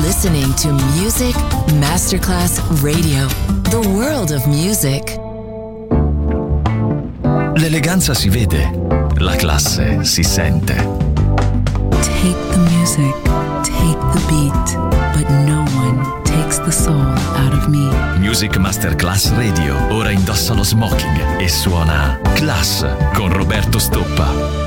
listening to Music Masterclass Radio, the world of music. L'eleganza si vede, la classe si sente. Take the music, take the beat, but no one takes the soul out of me. Music Masterclass Radio, ora indossa lo smoking e suona Class con Roberto Stoppa.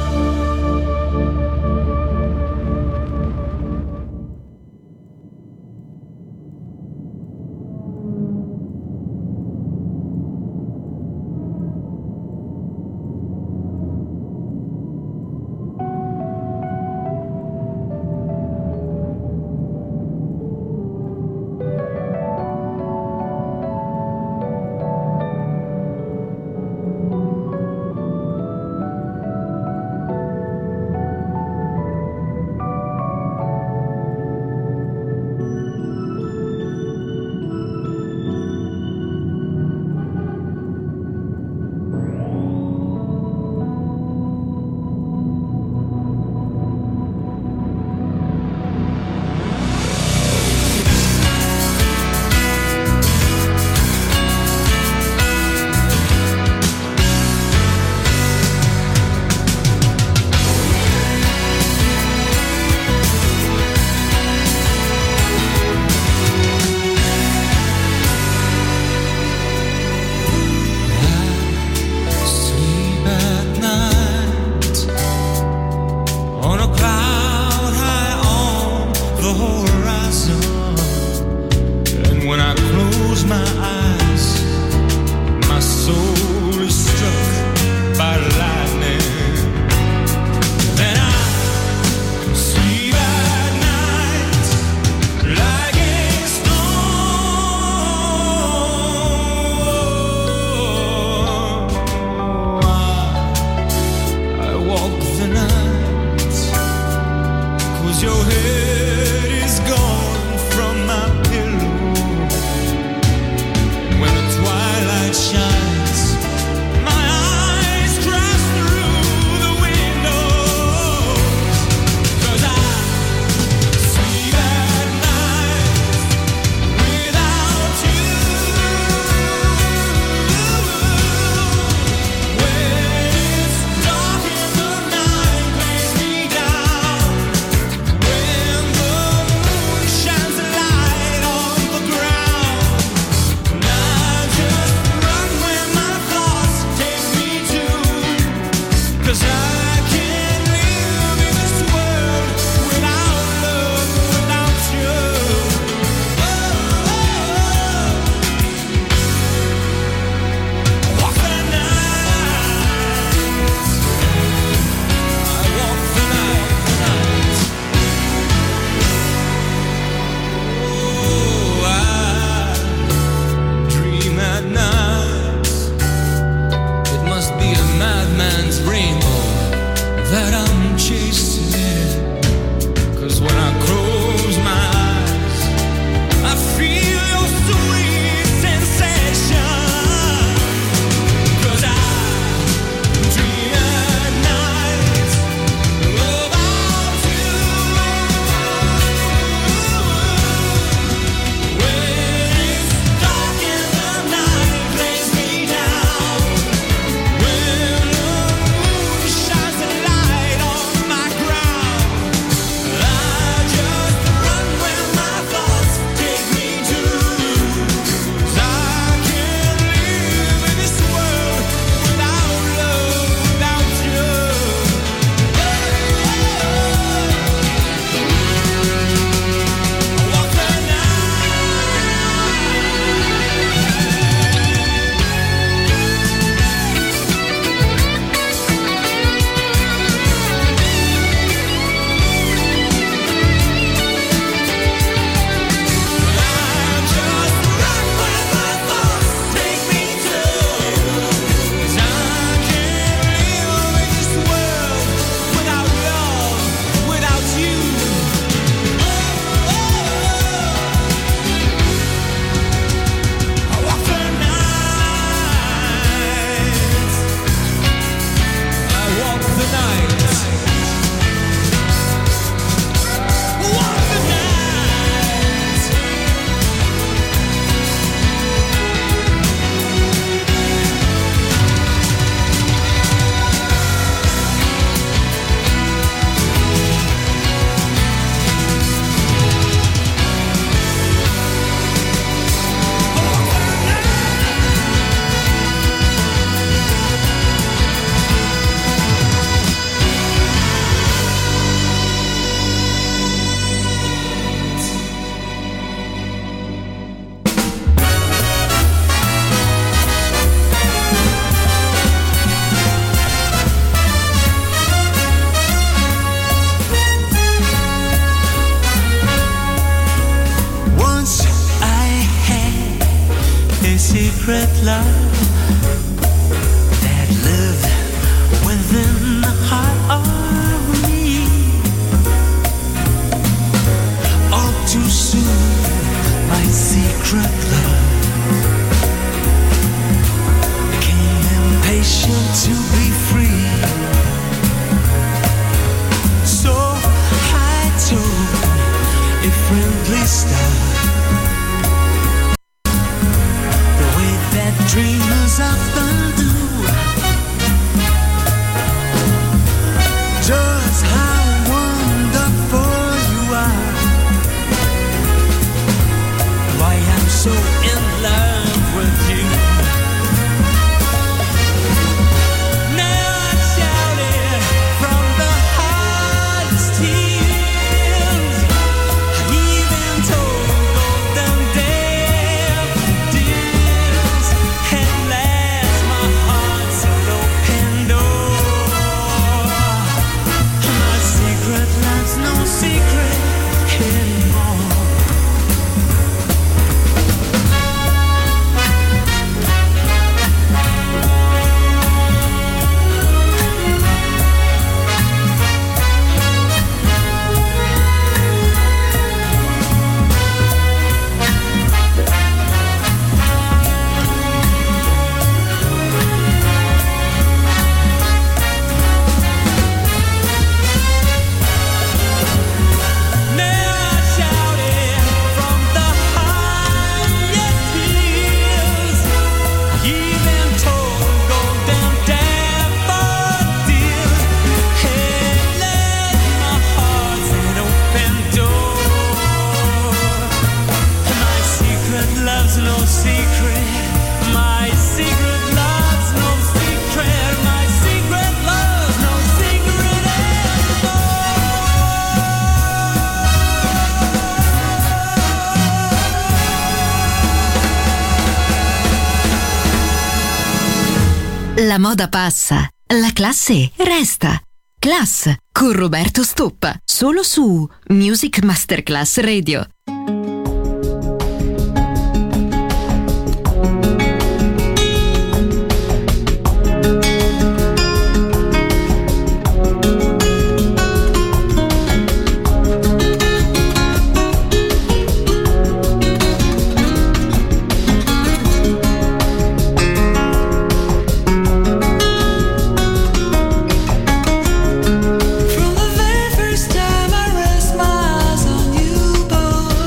When secret love that lived within the heart of me. All too soon, my secret love became impatient to be free. So I told a friendly star the way that dreamers often do, just how wonderful you are, why I'm so in love with you. Now I shout it from the hardest tears. I even told golden daffodils. At last my heart's an open door. My secret love's no secret anymore. La moda passa, la classe resta. Class con Roberto Stoppa, solo su Music Masterclass Radio. From the very first time I rest my eyes on you, boy.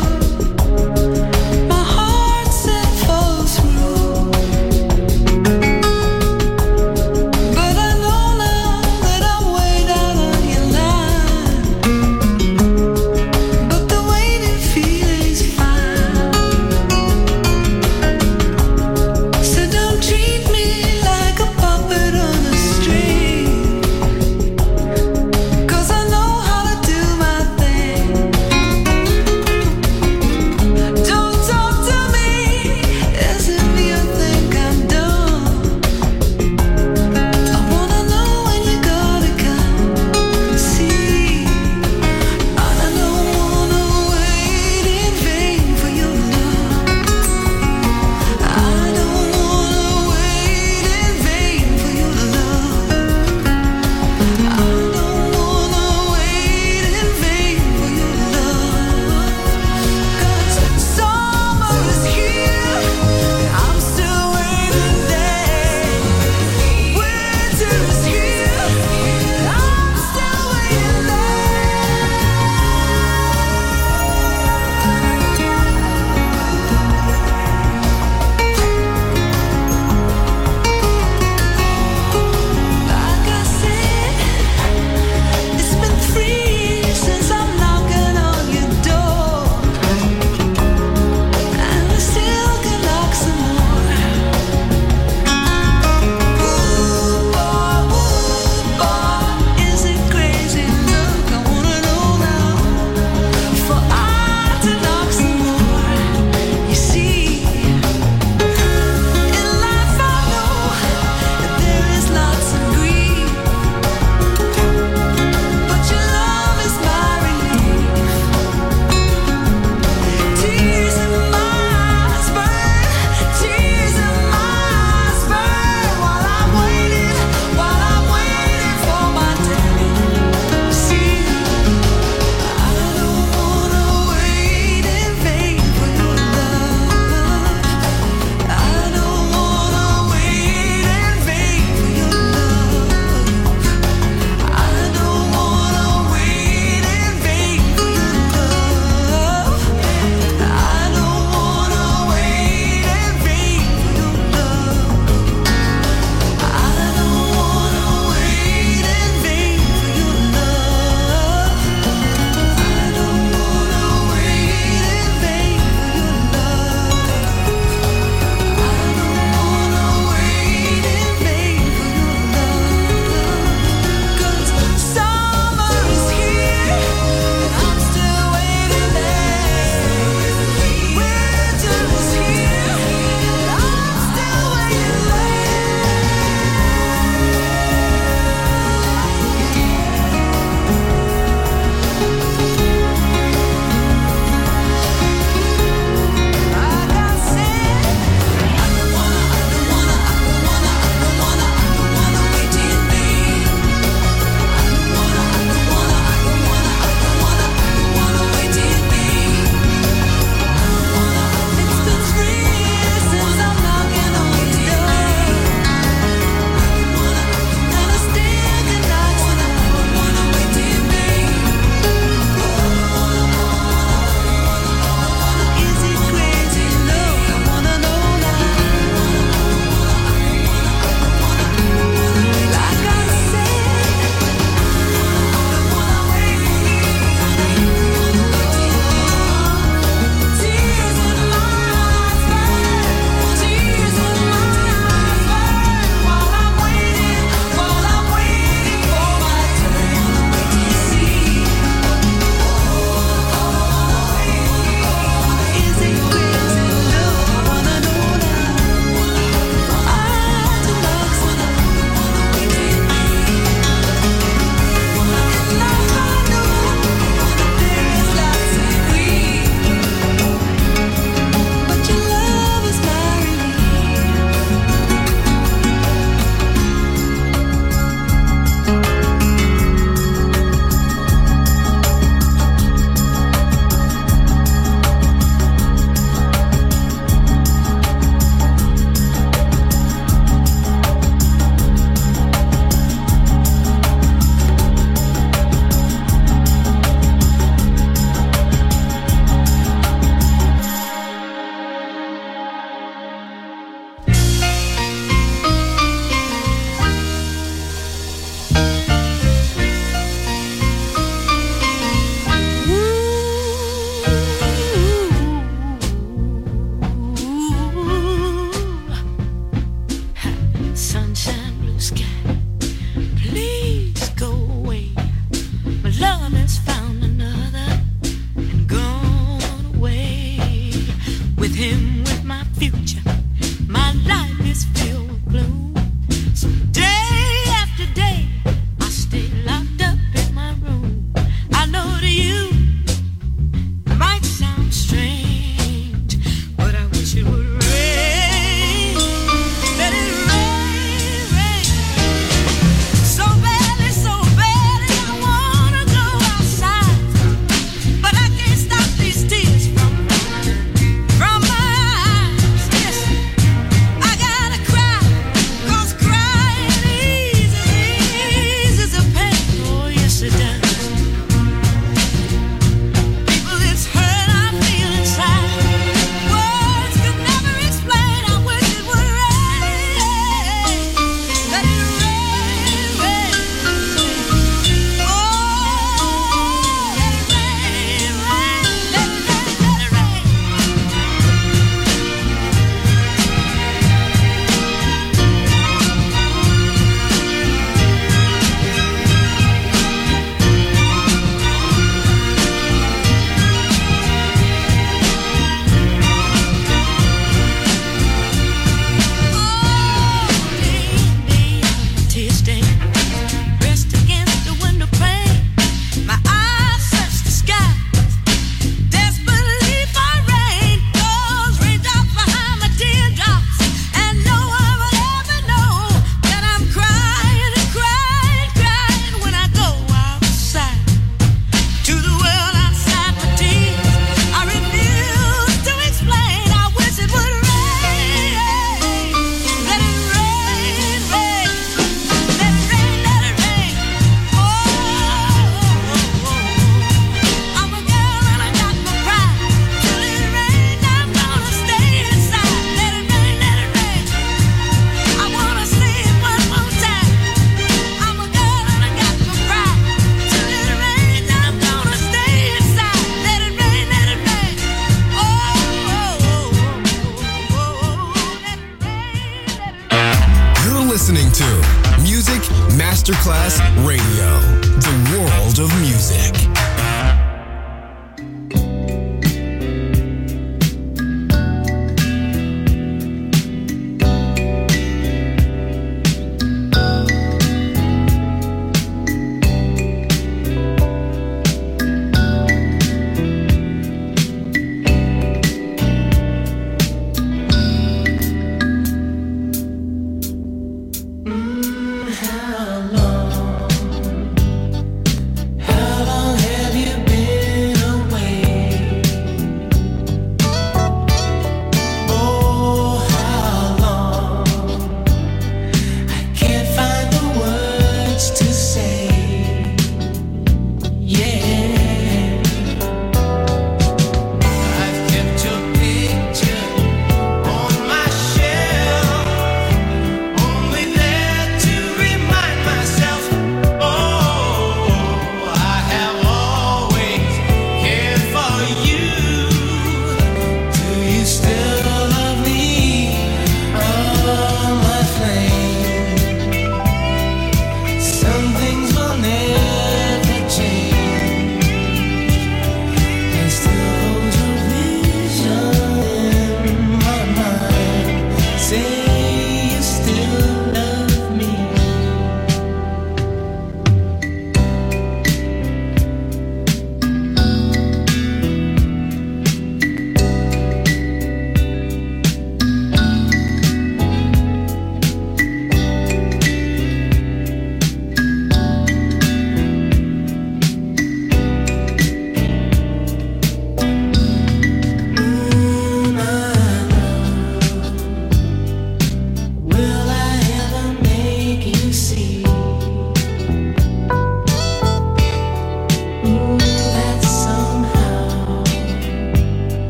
Masterclass Radio, the world of music. How long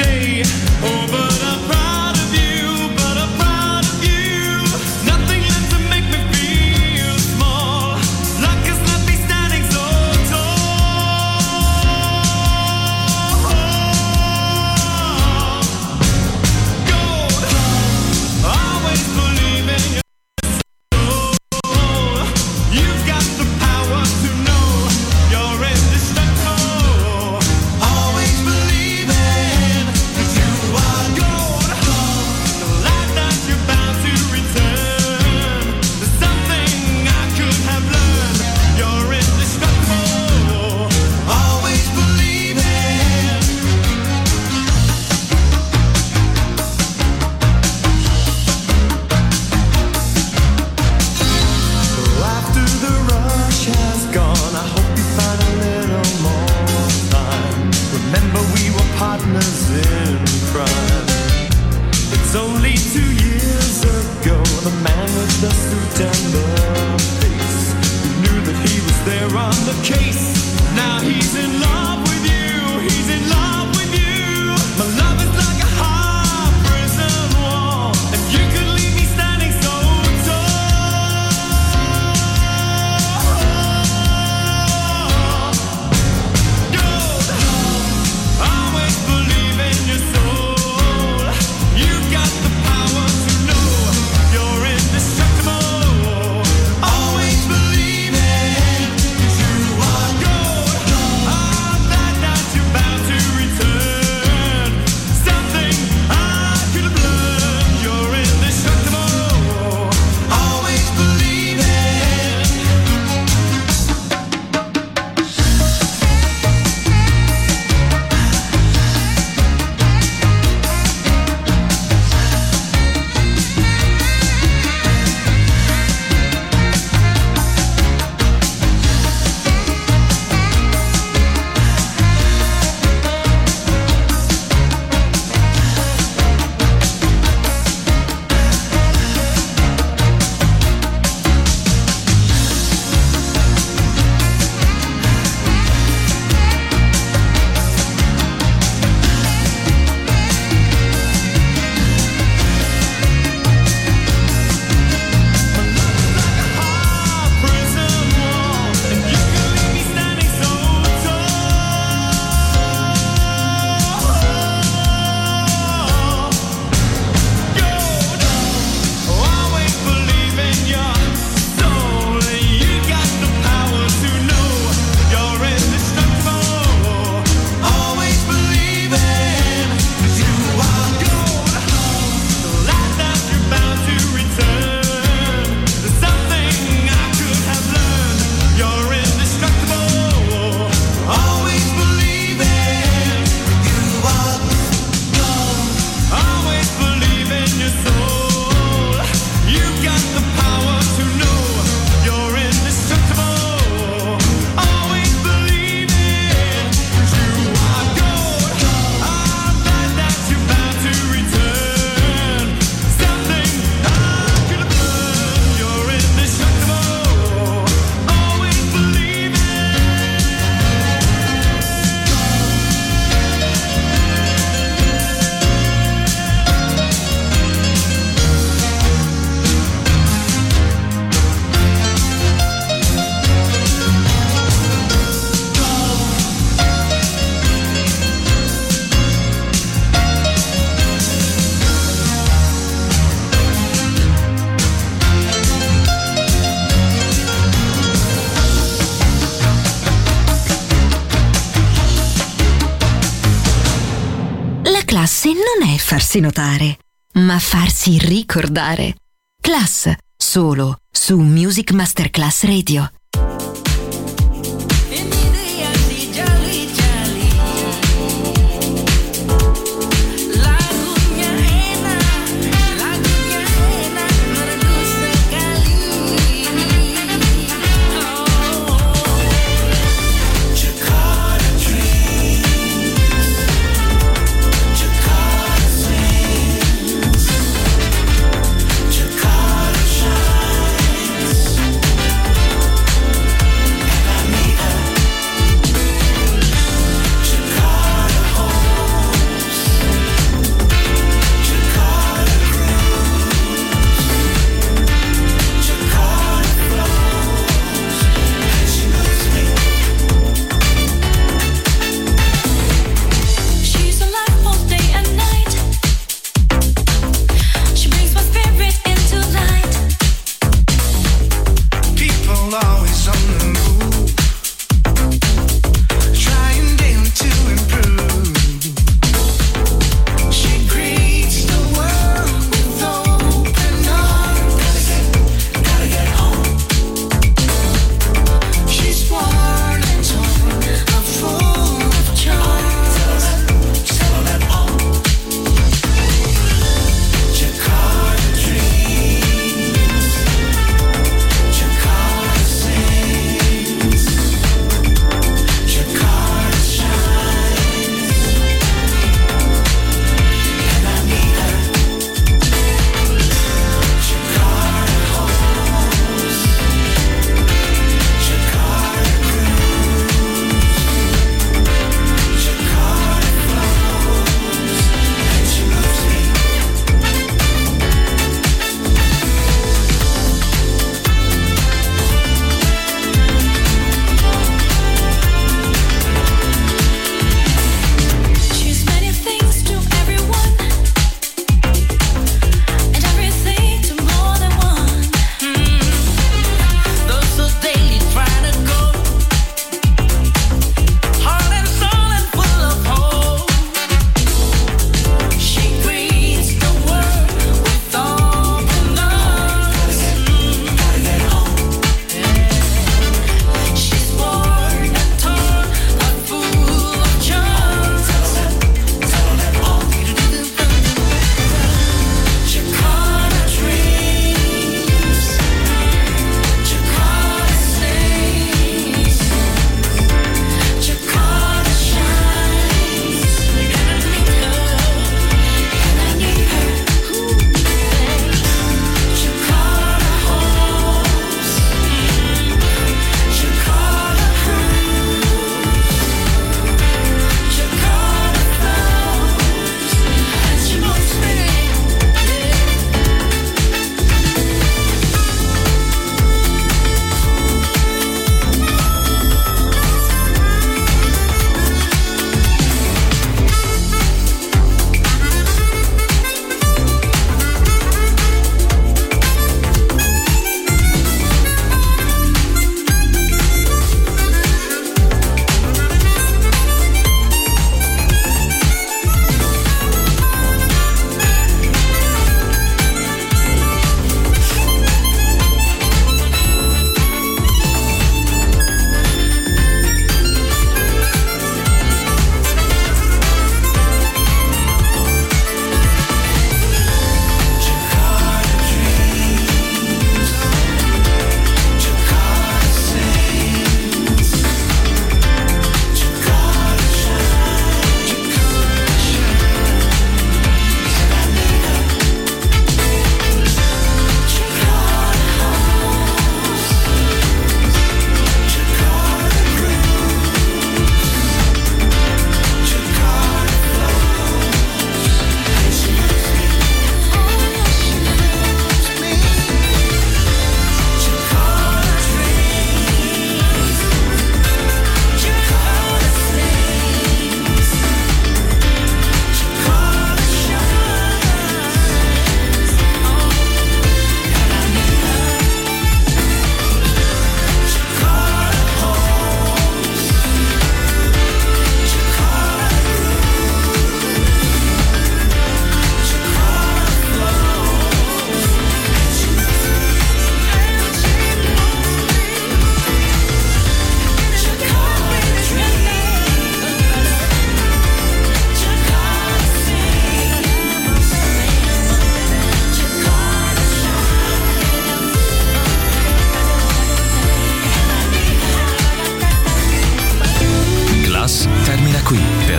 day. Oh, but I'm proud of you, but I'm proud of you. Nothing left to make me feel small. Luck has left me standing so tall. Gold, always believe in your soul. You've got the power to know you're indestructible. Always believing that you are gold. The life that you're bound to return. There's something I could have learned. You're indestructible. Always believing. After the rush has gone, I hope you find a little more time. Remember we were partners in crime. It's only 2 years ago, the man with the suit and the face, who knew that he was there on the case. Now he's in love with you, he's in love with you. My love is like a hard prison wall, and you could leave me standing so tall. Gold, always believe in your soul. You've got the power to know you're indestructible. Always believe in you are gold. I'm glad that you're bound to return. Something I could have learned. You're indestructible. Always believe in. Prison wall, and you can leave me standing so tall. Gold, always believe in your soul. You got the power to know you're indestructible. Always believe in you are gold. The life that you're bound to return. There's something I could have learned. You're indestructible. Always believe in you are gold. Always believe in your soul. You've got the power to know you're indestructible. Always believe in you are gold. I'm glad that you're bound to return. Something I could have learned. You're indestructible. Always believe in. La classe non è farsi notare, ma farsi ricordare. Class, solo su Music Masterclass Radio. Jakarta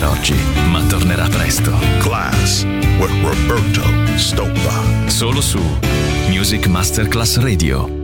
per oggi, ma tornerà presto. Class with Roberto Stoppa. Solo su Music Masterclass Radio.